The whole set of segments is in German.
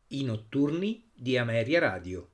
I notturni di Ameria Radio.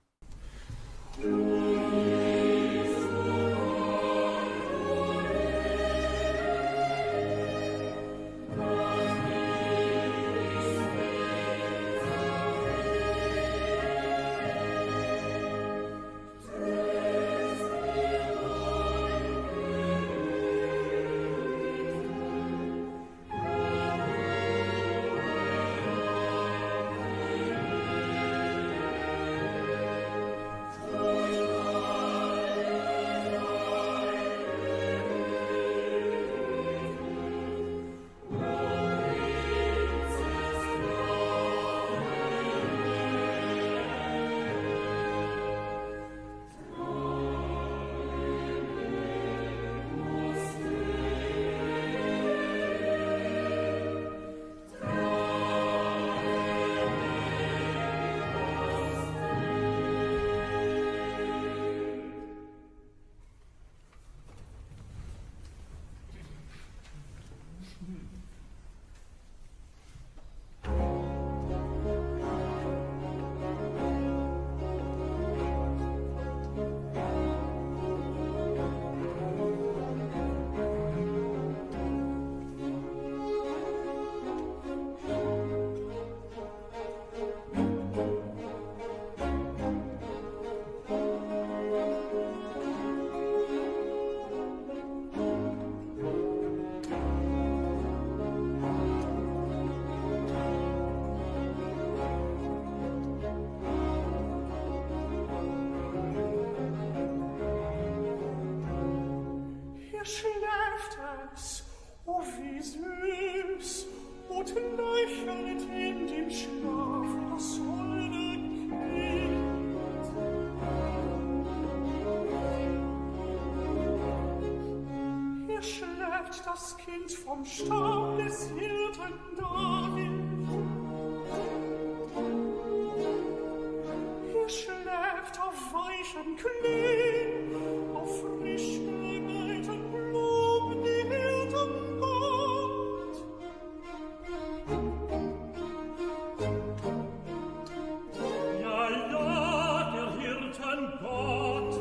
Schläft es, o wie süß, und lächelt in dem Schlaf das holde Kind. Hier schläft das Kind vom Stab des Hirten David. Hier schläft auf weichem Klee, auf frisch geweihten Blumen die Hirtengott. Ja, ja, der Hirtengott.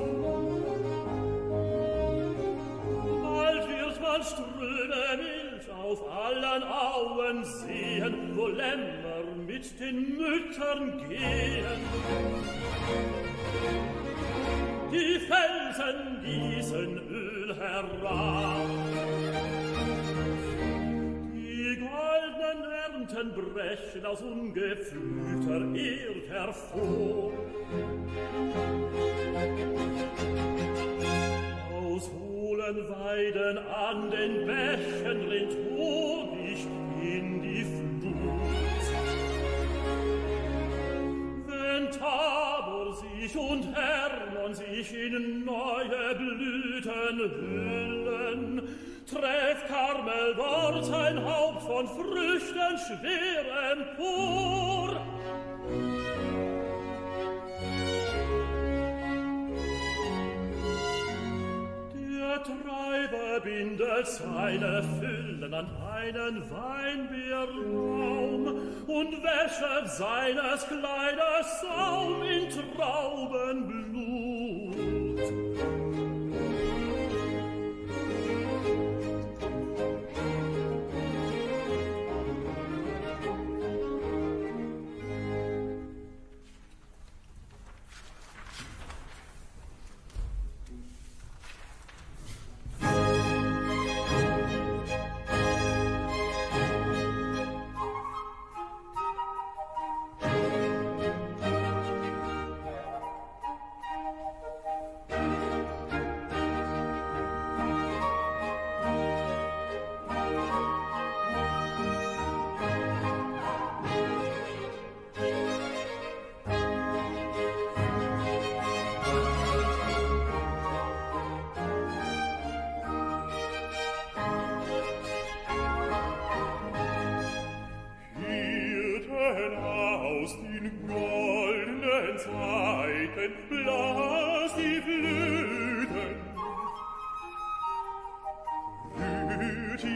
Bald wird man Ströme Milch auf allen Auen sehen, wo Lämmer mit den Müttern gehen. Die Felsen gießen Öl herab, die goldenen Ernten brechen aus ungepflügter Erd hervor. Aus hohlen Weiden an den Bächen rinnt Honig in die Flut. Wenn Tabor sich und Hermon sich in neue Blüten hüllen, trägt Karmel dort sein Haupt von Früchten schwer empor. Der Treiber bindet seine Füllen an einen Weinbeerbaum und wäscht seines Kleiders Saum in Traubenblut.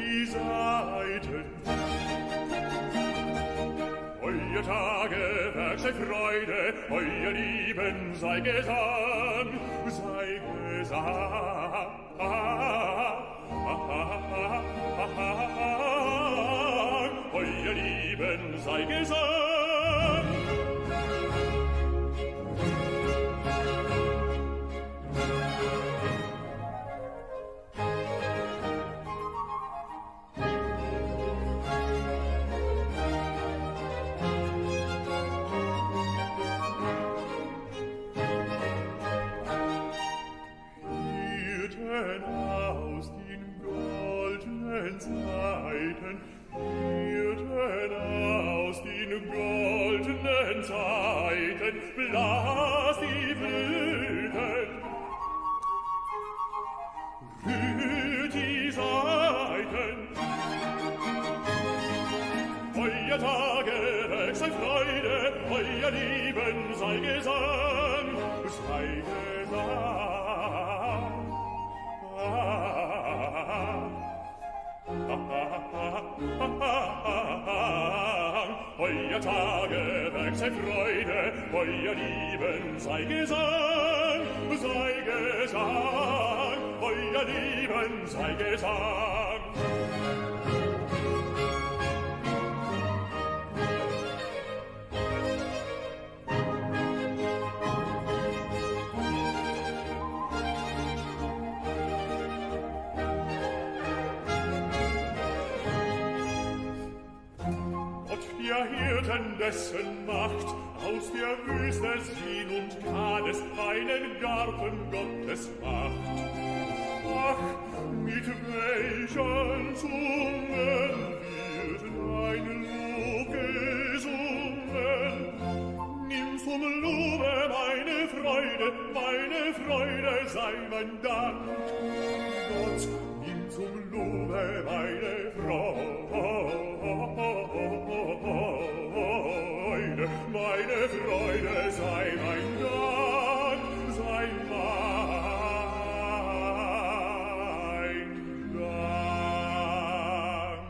Tage Werk sei Freude, euer Lieben sei Gesang, sei Gesang. Euer Lieben sei Gesang. Blas die Flöten, rührt die Saiten. Euer Tagewerk sei Freude, euer Lieben sei Gesang, sei Gesang. Euer Tagewerk sei Freude, euer Lieben sei Gesang, sei Gesang, euer Lieben sei Gesang. Hirten dessen Macht aus der Wüste Sin und Kades einen Garten Gottes macht. Ach, mit welchen Zungen wird dein Lob gesungen? Nimm zum Lobe meine Freude sei mein Dank. Gott, nimm zum Lobe meine Freude. Meine Freude sei mein Dank, sei mein Dank.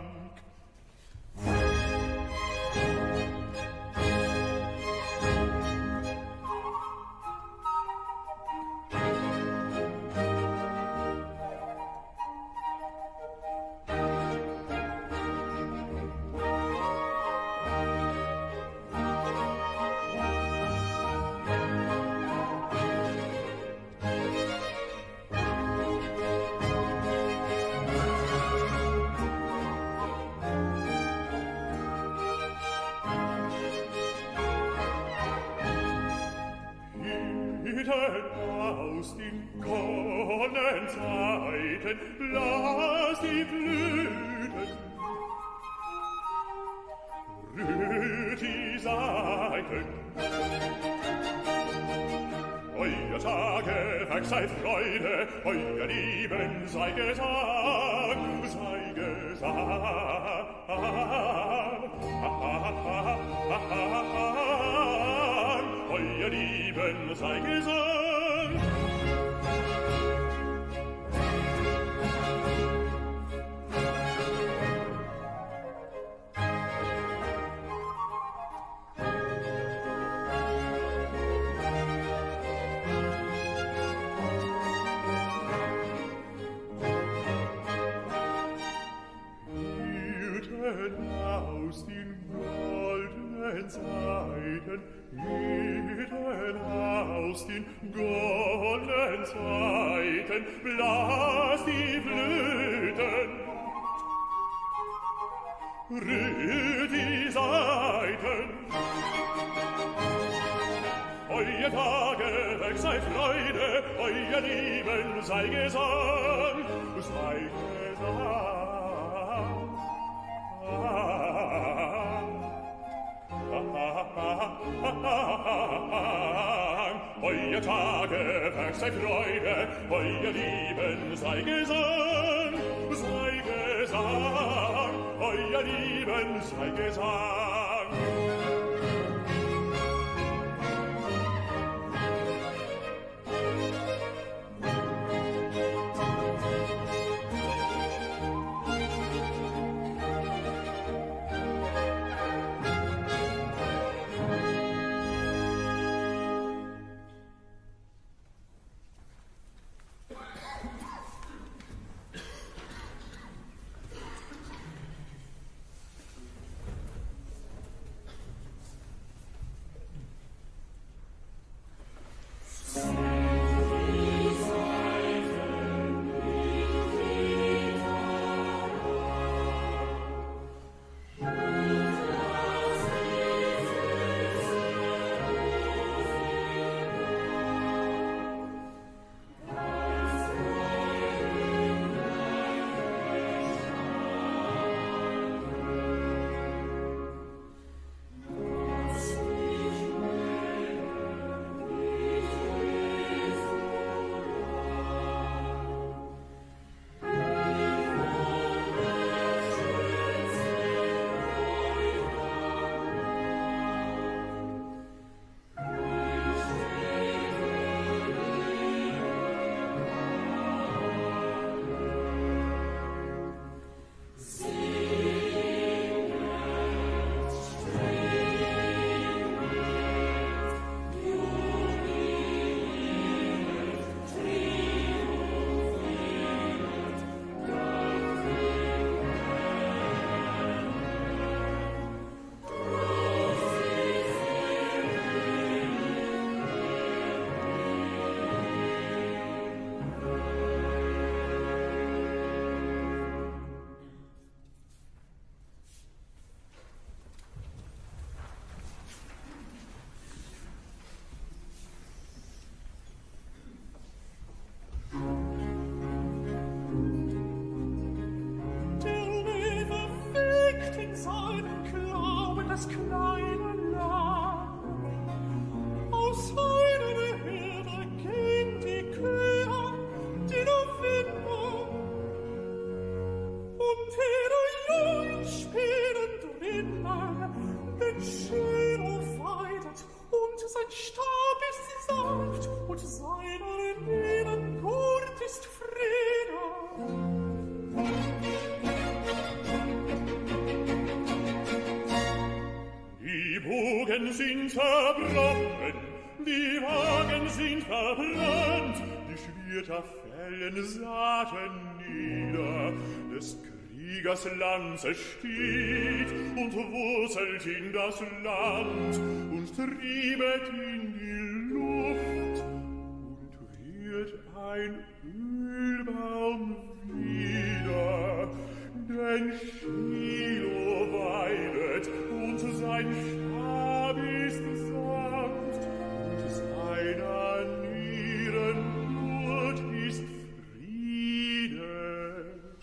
Aus den kommenden Zeiten blas die Flöten, rührt die Saiten. Euer Tagewerk sei Freude, euer Lieben sei Gesang, sei Gesang. Euer Lieben sei Gesang. Aus den goldenen Zeiten, Hirten aus den goldenen Zeiten, blas die Flöten, rührt die Saiten. Euer Tagewerk sei Freude, euer Lieben sei Gesang, sei Gesang. Euer Tagewerk sei Freude, euer Lieben sei Gesang, sei Gesang, euer Lieben sei Gesang. Wagen sind zerbrochen, die Wagen sind verbrannt, die Schwerter fällen Saaten nieder, des Kriegers Lanze steht und wurzelt in das Land und triebet in die Luft und wird ein Ölbaum wieder, denn Shiloh weidet und sein Stab ist sanft und seiner Nieren Blut ist Friede.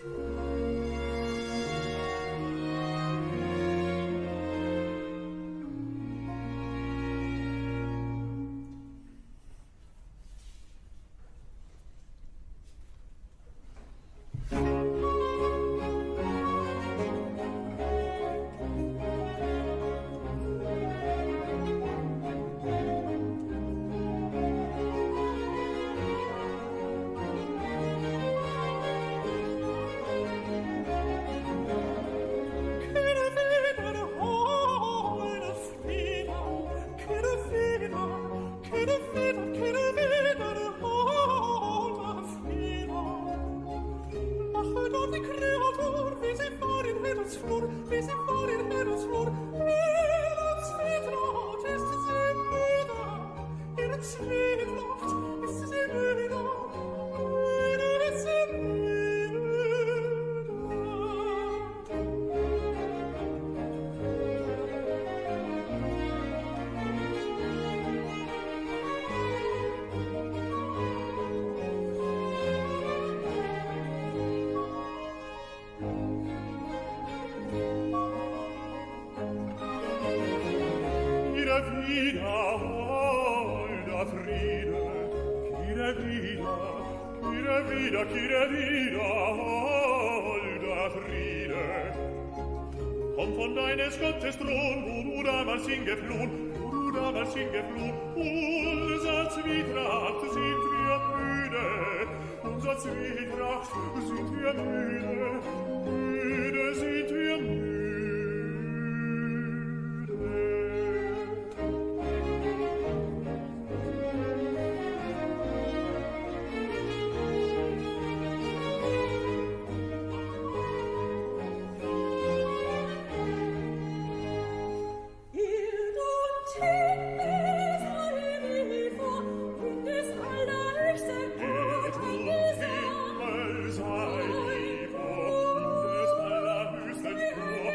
Kehre wieder, holder Friede. Komm von deines Gottes Thron, wo du damals hingeflohen, unser Zwietracht sind wir müde, unser Zwietracht sind wir müde, müde sind wir müde. Himmel sei vor, des allerhöchsten vor,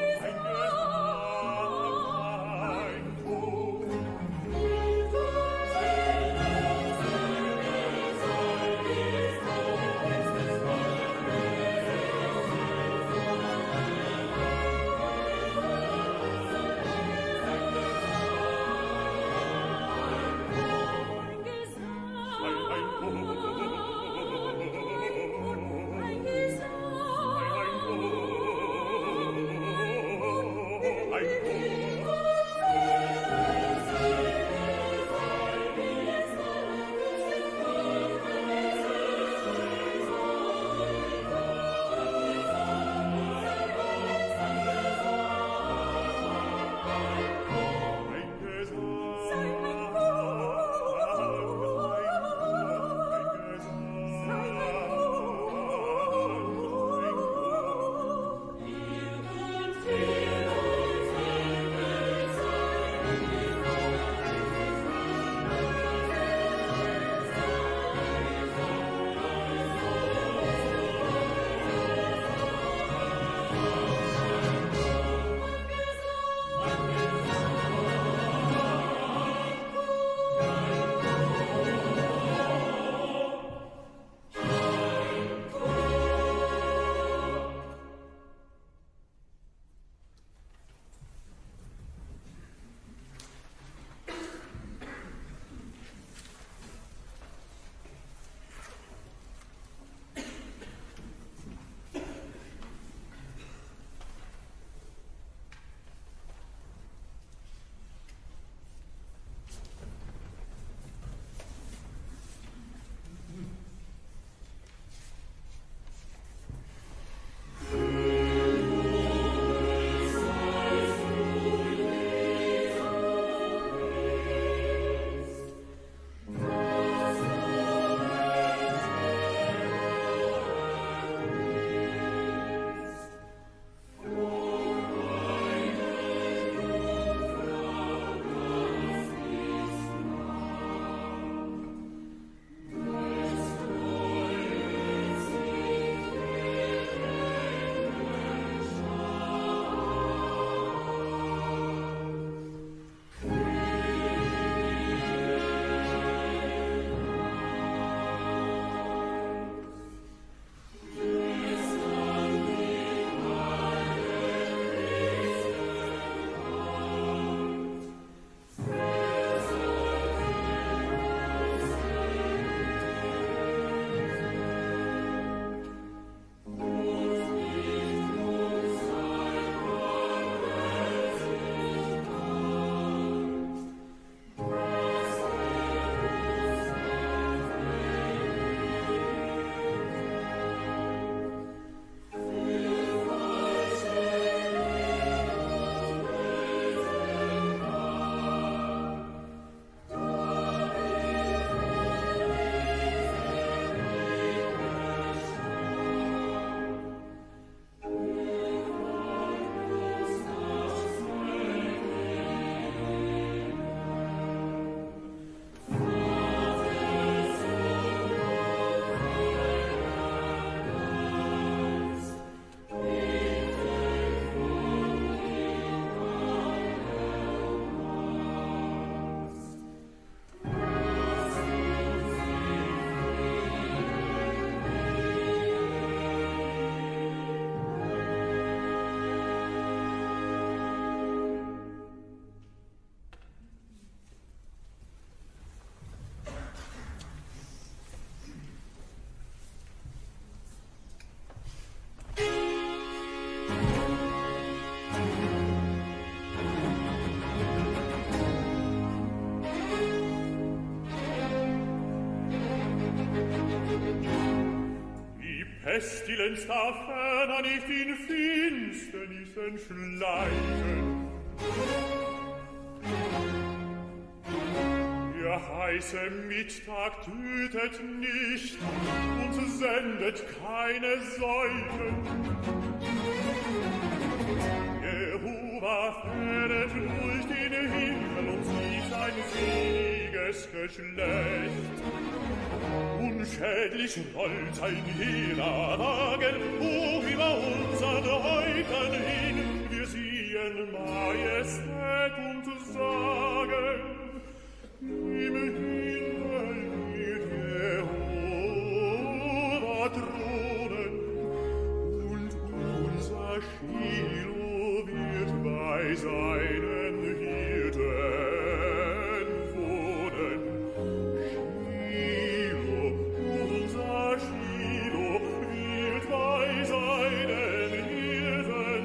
Pestilenz darf ferner nicht in Finsternissen schleichen. Der heiße Mittag tötet nicht und sendet keine Seuchen. Jehova fähret durch den Himmel und sieht ein seliges Geschlecht. Unschädlich rollt sein heerer Wagen hoch über unsern Häuptern hin. Wir sehen Majestät und sagen, im Himmel wird Jehova thronen und unser Shiloh wird bei seinen Hirten wohnen. Unser Shiloh wird bei seinen Hirten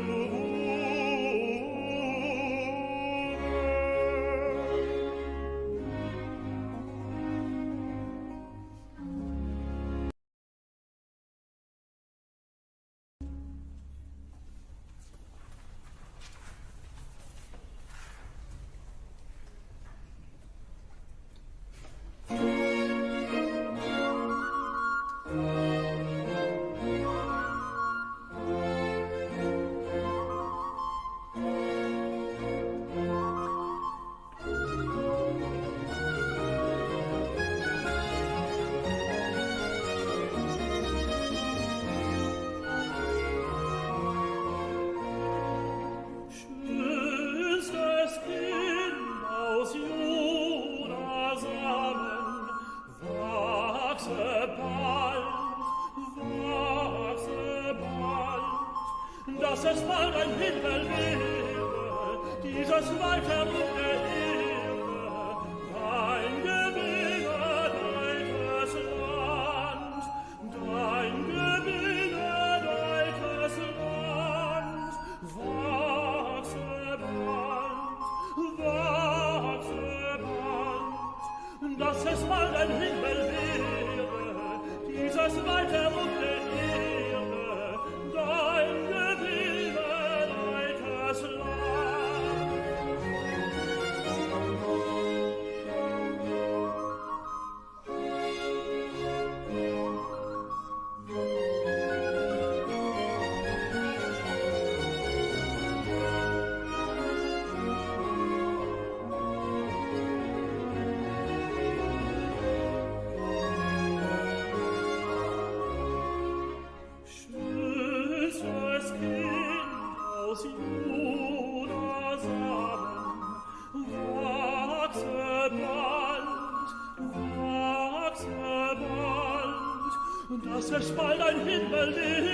dass es bald ein Himmel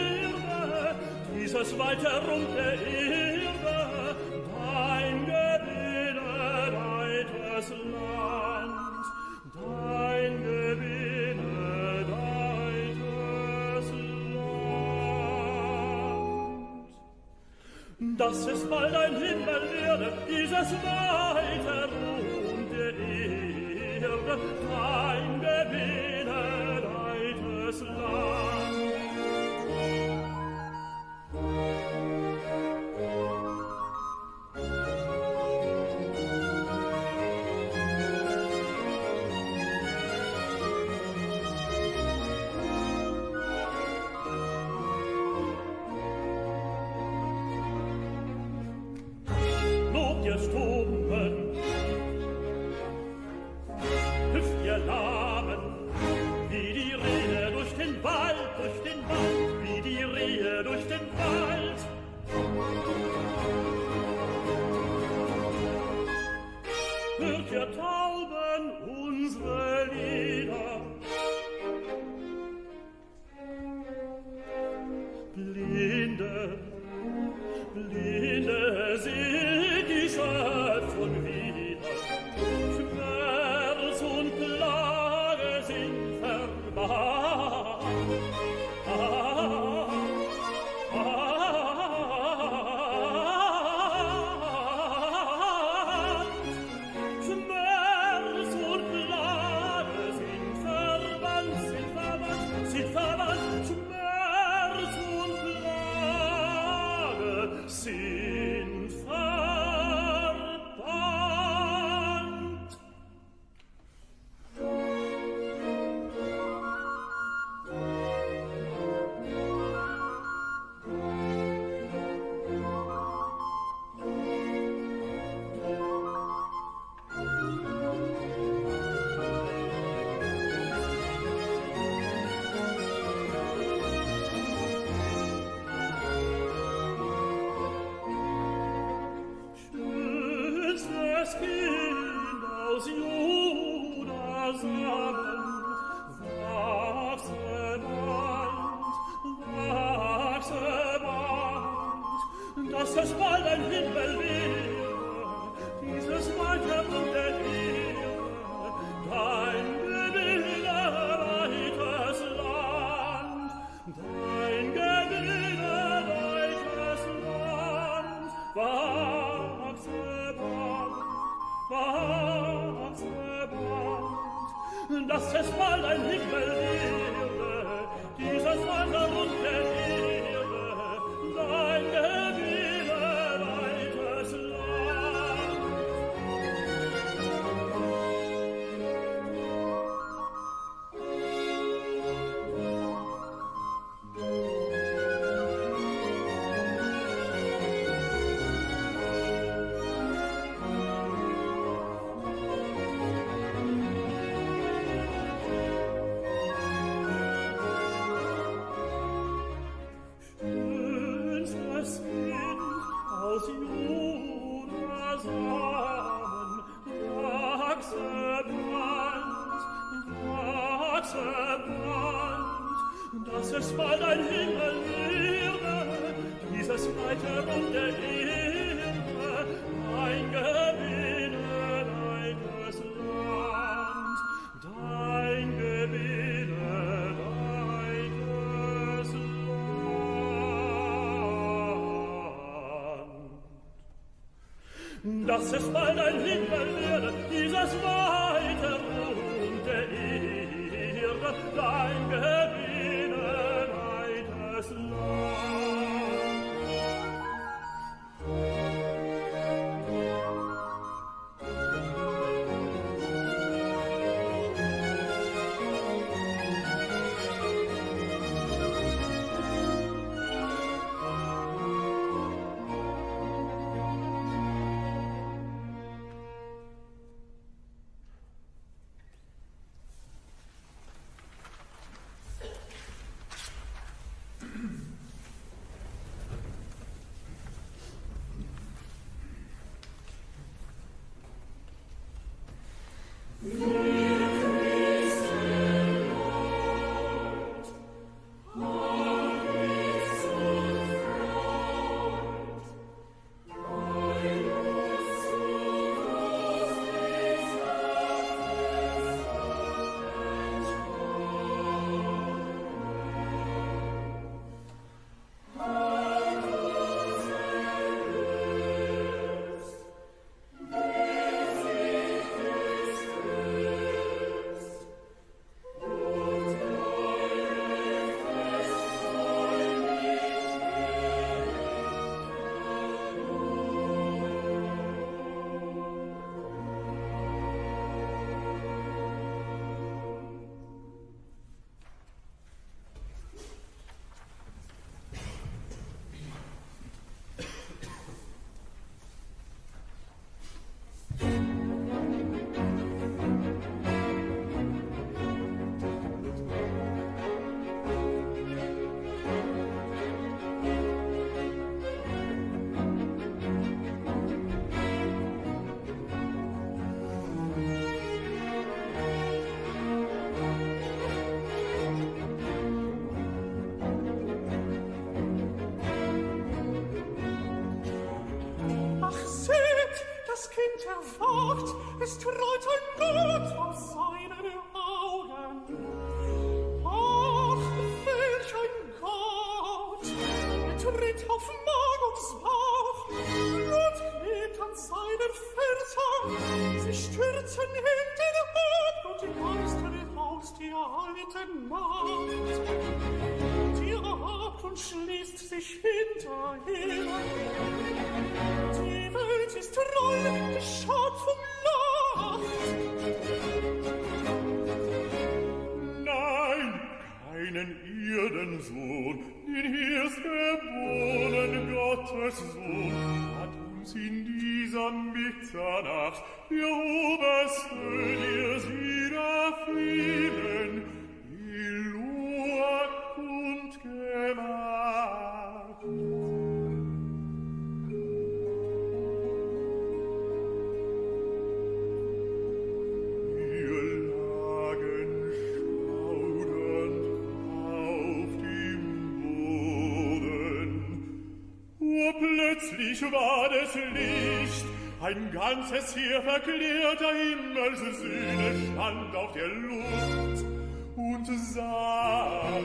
wäre, dieses weite Rund der Erde, dein gebenedeites Land, dein gebenedeites Land. Dass es bald ein Himmel werde, dieses weite Rund der Erde, dein gebenedeites Land. Lobt ihr Stummen, hüpft ihr Lahmen, wie die Rehe durch den Wald, wie die Rehe durch den Wald. Hört ihr Tauben unsere Lieder, Blinde, Blinde, seht die Schöpfung wieder, Schmerz und Plage sind verbannt. Schmerz und Plage sind verbannt, sind verbannt, sind verbannt. Schmerz dass es bald ein Himmel wäre, dieses weite und der Ehre, dein gewinnerweites Land, dein gewinnerweites Land, wachse bald, dass es bald ein Himmel wäre, dieses weite und der Ehre, dein gewinnerweites Land. Schönstes Kind aus Juda Samen, wachse bald, dass es bald ein Himmel wäre, dieses weite und der Ehre, ein gewinnerweites Land, dein gewinnerweites Land. Dass es bald ein Himmel werde, dieses weite und der Ehre, dein gewinnerweites Land. Es träumt ein Gott aus seinen Augen. Ach, welch ein Gott! Er tritt auf Magos Bauch, Blut klebt an seinen Fersen. Sie stürzen in den Abgrund, die Geister aus der alten Nacht. Der Abgrund schließt sich hinter ihnen. Die Welt ist treu, die Schöpfung lacht. Nein, keinen Erdensohn, den erstgeborenen Gottessohn, hat uns in dieser Mitternacht der Oberste der Seraphinen Eloa kundgemacht. Wir war des Licht, ein ganzes Heer verklärter Himmelssöhne stand auf der Luft und sang.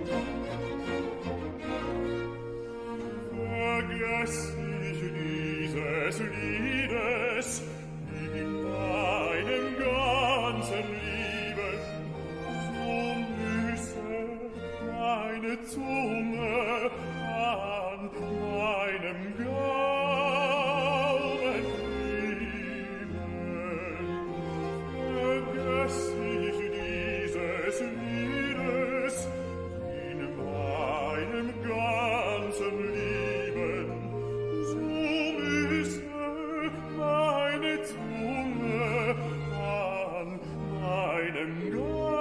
Vergess ich dieses Liedes in meinem ganzen Leben, so müsse meine Zunge an meinem Gaumen lieben. Vergess ich dieses Liedes in meinem ganzen Leben, so müsse meine Zunge an meinem Gaumen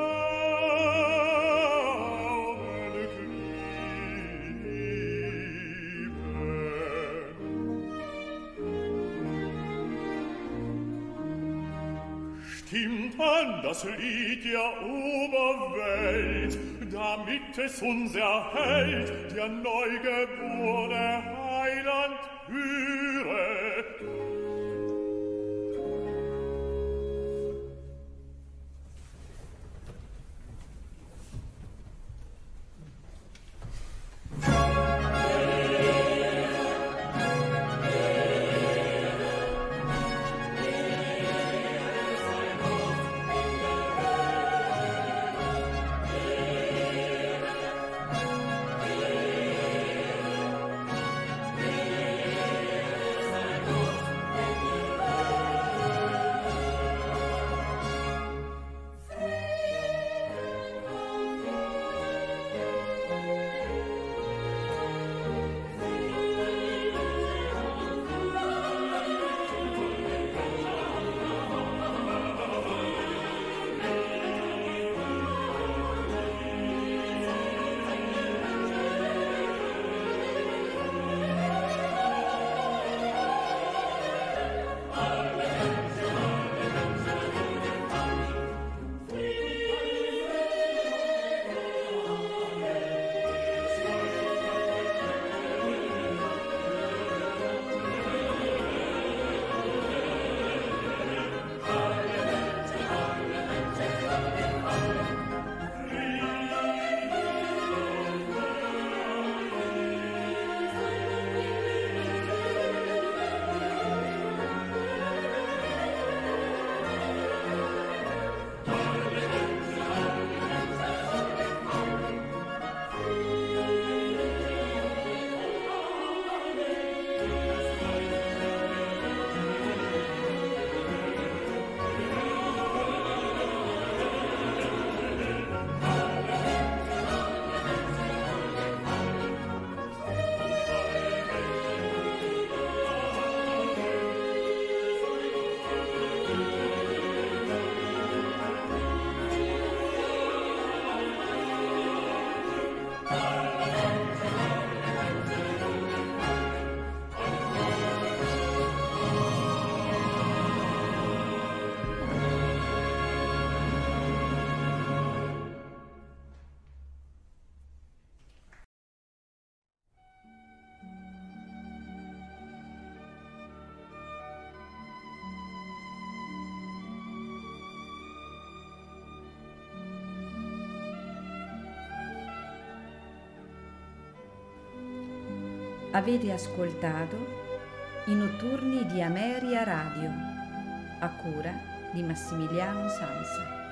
stimmt an das Lied der Oberwelt, damit es uns erhält, der neugeborene Heiland höre. Avete ascoltato i notturni di Ameria Radio, a cura di Massimiliano Sansa.